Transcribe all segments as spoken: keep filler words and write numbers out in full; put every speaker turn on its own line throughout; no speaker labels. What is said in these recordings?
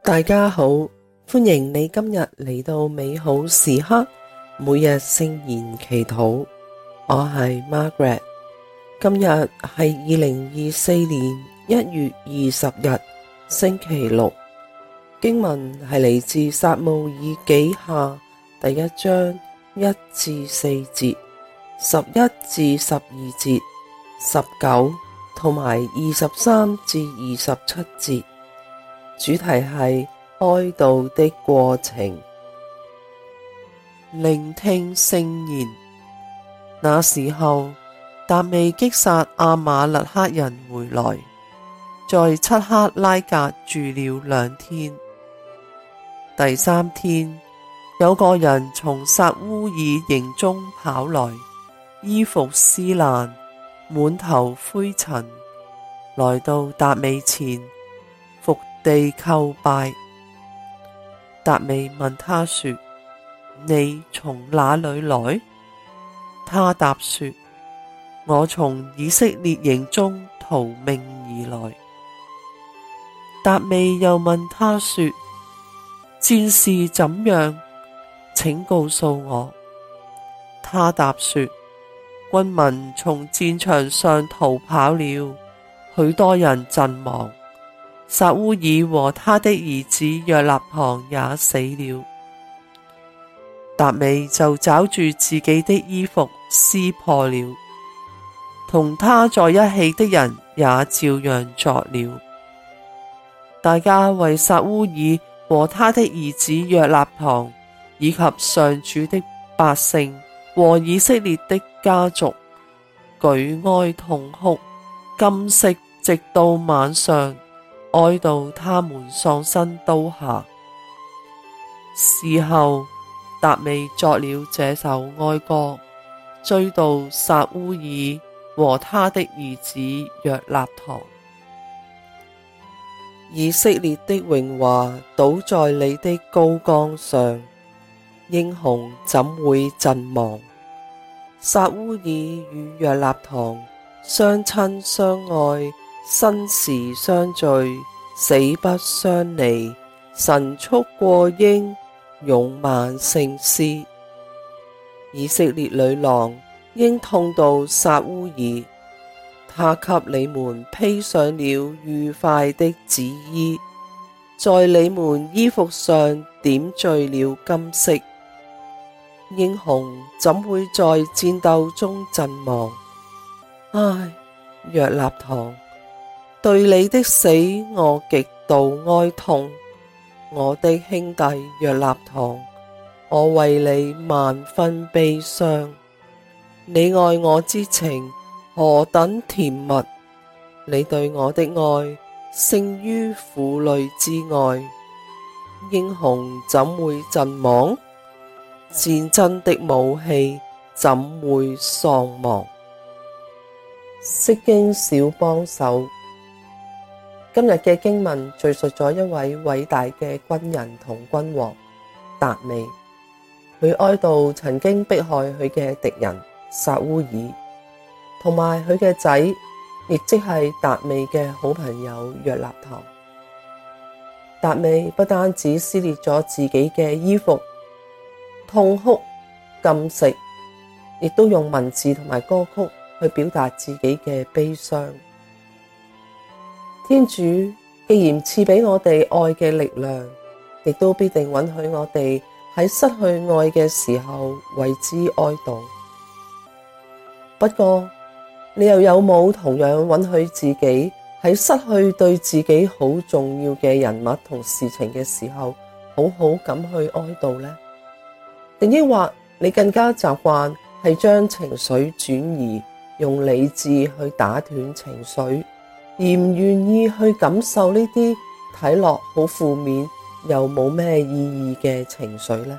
大家好，歡迎你今日嚟到美好時刻，每日聖言祈禱。我係 Margaret， 今日係二零二四年一月二十日星期六。經文係嚟自撒慕爾紀下第一章一至四節、十一至十二節、十九同埋二十三至二十七節。主題係哀悼的過程。聆聽聖言。那時候，達味擊殺阿瑪肋克人回來，在漆克拉格住了兩天。第三天，有個人從撒烏耳營中跑來，衣服撕爛，滿頭灰塵，來到達味前，伏地叩拜。達味問他說：你從哪裏來？他答說：我從以色列營中逃命而來。達味又問他說：戰事怎樣？請告訴我。他答說：軍民從戰場上逃跑了，許多人陣亡。撒烏耳和他的兒子約納堂也死了。達味就抓住自己的衣服撕破了，同他在一起的人也照樣作了。大家為撒烏耳和他的兒子約納堂，以及上主的百姓和以色列的家族，舉哀痛哭，禁食直到晚上，哀悼他們喪身刀下。事後，達味作了這首哀歌，追悼撒烏耳和他的兒子約納堂。以色列的榮華倒在你的高崗上，英雄怎會陣亡？撒烏耳與約納堂相親相愛，生時相聚，死不相離，神速過鷹，勇猛勝獅。以色列女郎應痛悼撒烏耳，他給你們披上了愉快的紫衣，在你們衣服上點綴了金色。英雄怎會在戰鬥中陣亡？唉，約納堂，對你的死我極度哀痛。我的兄弟約納堂，我為你萬分悲傷。你愛我之情何等甜蜜，你對我的愛勝於婦女之愛。英雄怎會陣亡？戰爭的武器怎會喪亡？釋經小幫手。今日嘅經文敘述咗一位偉大嘅軍人同君王達味，佢哀悼曾經迫害佢嘅敵人撒烏耳，同埋佢嘅仔，亦即係達味嘅好朋友約納堂。達味不單止撕裂咗自己嘅衣服，痛哭禁食，亦都用文字同埋歌曲去表達自己嘅悲傷。天主既然賜俾我哋愛嘅力量，亦都必定允許我哋喺失去愛嘅時候為之哀悼。不過，你又有冇同樣允許自己喺失去對自己好重要嘅人物同事情嘅時候，好好咁去哀悼呢？定抑或你更加習慣係將情緒轉移，用理智去打斷情緒，而唔願意去感受呢啲睇落好負面又冇咩意義嘅情緒呢？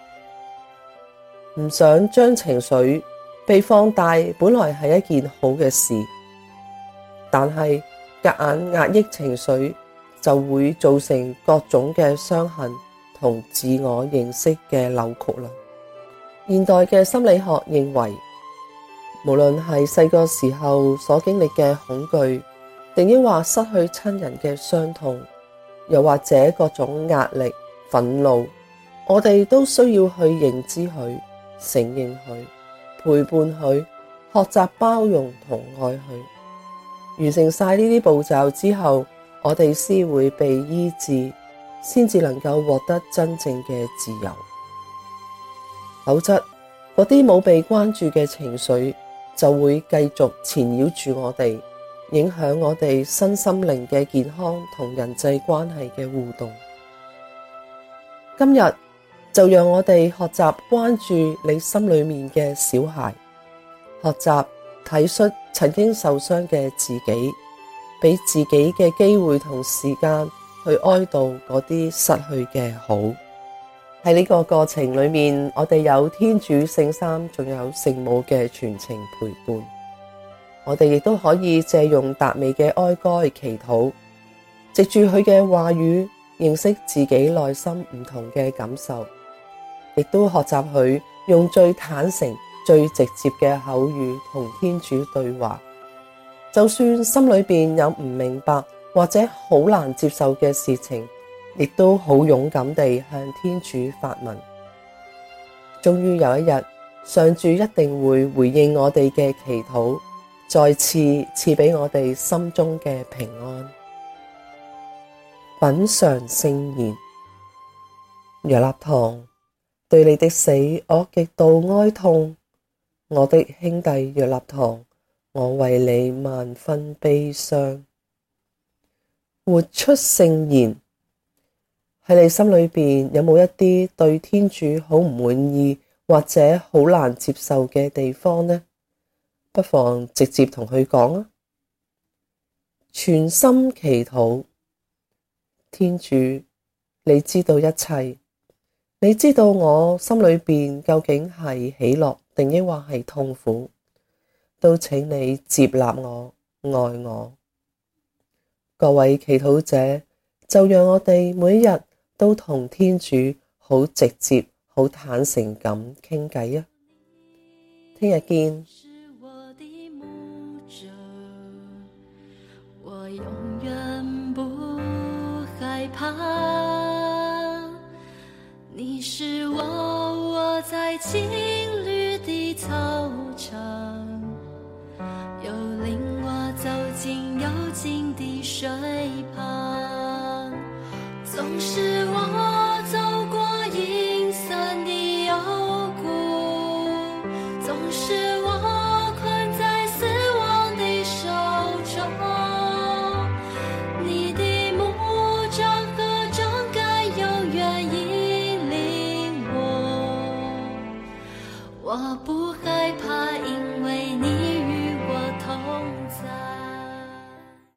唔想將情緒被放大，本來係一件好嘅事，但係夾硬壓抑情緒就會造成各種嘅傷痕同自我認識嘅扭曲啦。現代嘅心理學認為，無論係細個時候所經歷嘅恐懼，定抑或失去親人嘅傷痛， 又或者各種壓力、憤怒，我哋都需要去認知佢、承認佢、陪伴佢、學習包容同愛佢。完成晒呢啲步驟之後，我哋先會被醫治，先至能夠獲得真正嘅自由。否則，嗰啲冇被關注嘅情緒就會繼續纏繞住我哋，影響我哋身心靈嘅健康同人際關係嘅互動。今日就讓我哋學習關注你心裏面嘅小孩，學習體恤曾經受傷嘅自己，俾自己嘅機會同時間去哀悼嗰啲失去嘅好。喺呢個過程裏面，我哋有天主聖三，仲有聖母嘅全程陪伴。我哋亦都可以借用達味嘅哀歌祈禱，藉住佢嘅話語，認識自己內心唔同嘅感受，亦都學習佢用最坦誠、最直接嘅口語同天主對話。就算心裏邊有唔明白或者好難接受嘅事情，亦都好勇敢地向天主發問。終於有一日，上主一定會回應我哋嘅祈禱，再次賜俾我哋心中嘅平安。品嚐聖言。若納堂，對你的死我極度哀痛，我的兄弟若納堂，我為你萬分悲傷。活出聖言。喺你心裏邊有冇一啲對天主好唔滿意或者好難接受嘅地方呢？不妨直接同佢講啊！全心祈禱。天主，你知道一切，你知道我心裏邊究竟係喜樂定抑或係痛苦，都請你接納我、愛我。各位祈禱者，就讓我哋每一日都同天主好直接、好坦誠咁傾偈啊！聽日見。我永遠不害怕，你是我窩在青綠的草場，又領我走進幽靜的水旁，縱使我走過陰森的幽谷，縱使我困在死亡的手中，你的牧杖和杖竿永遠引領我，我不害怕。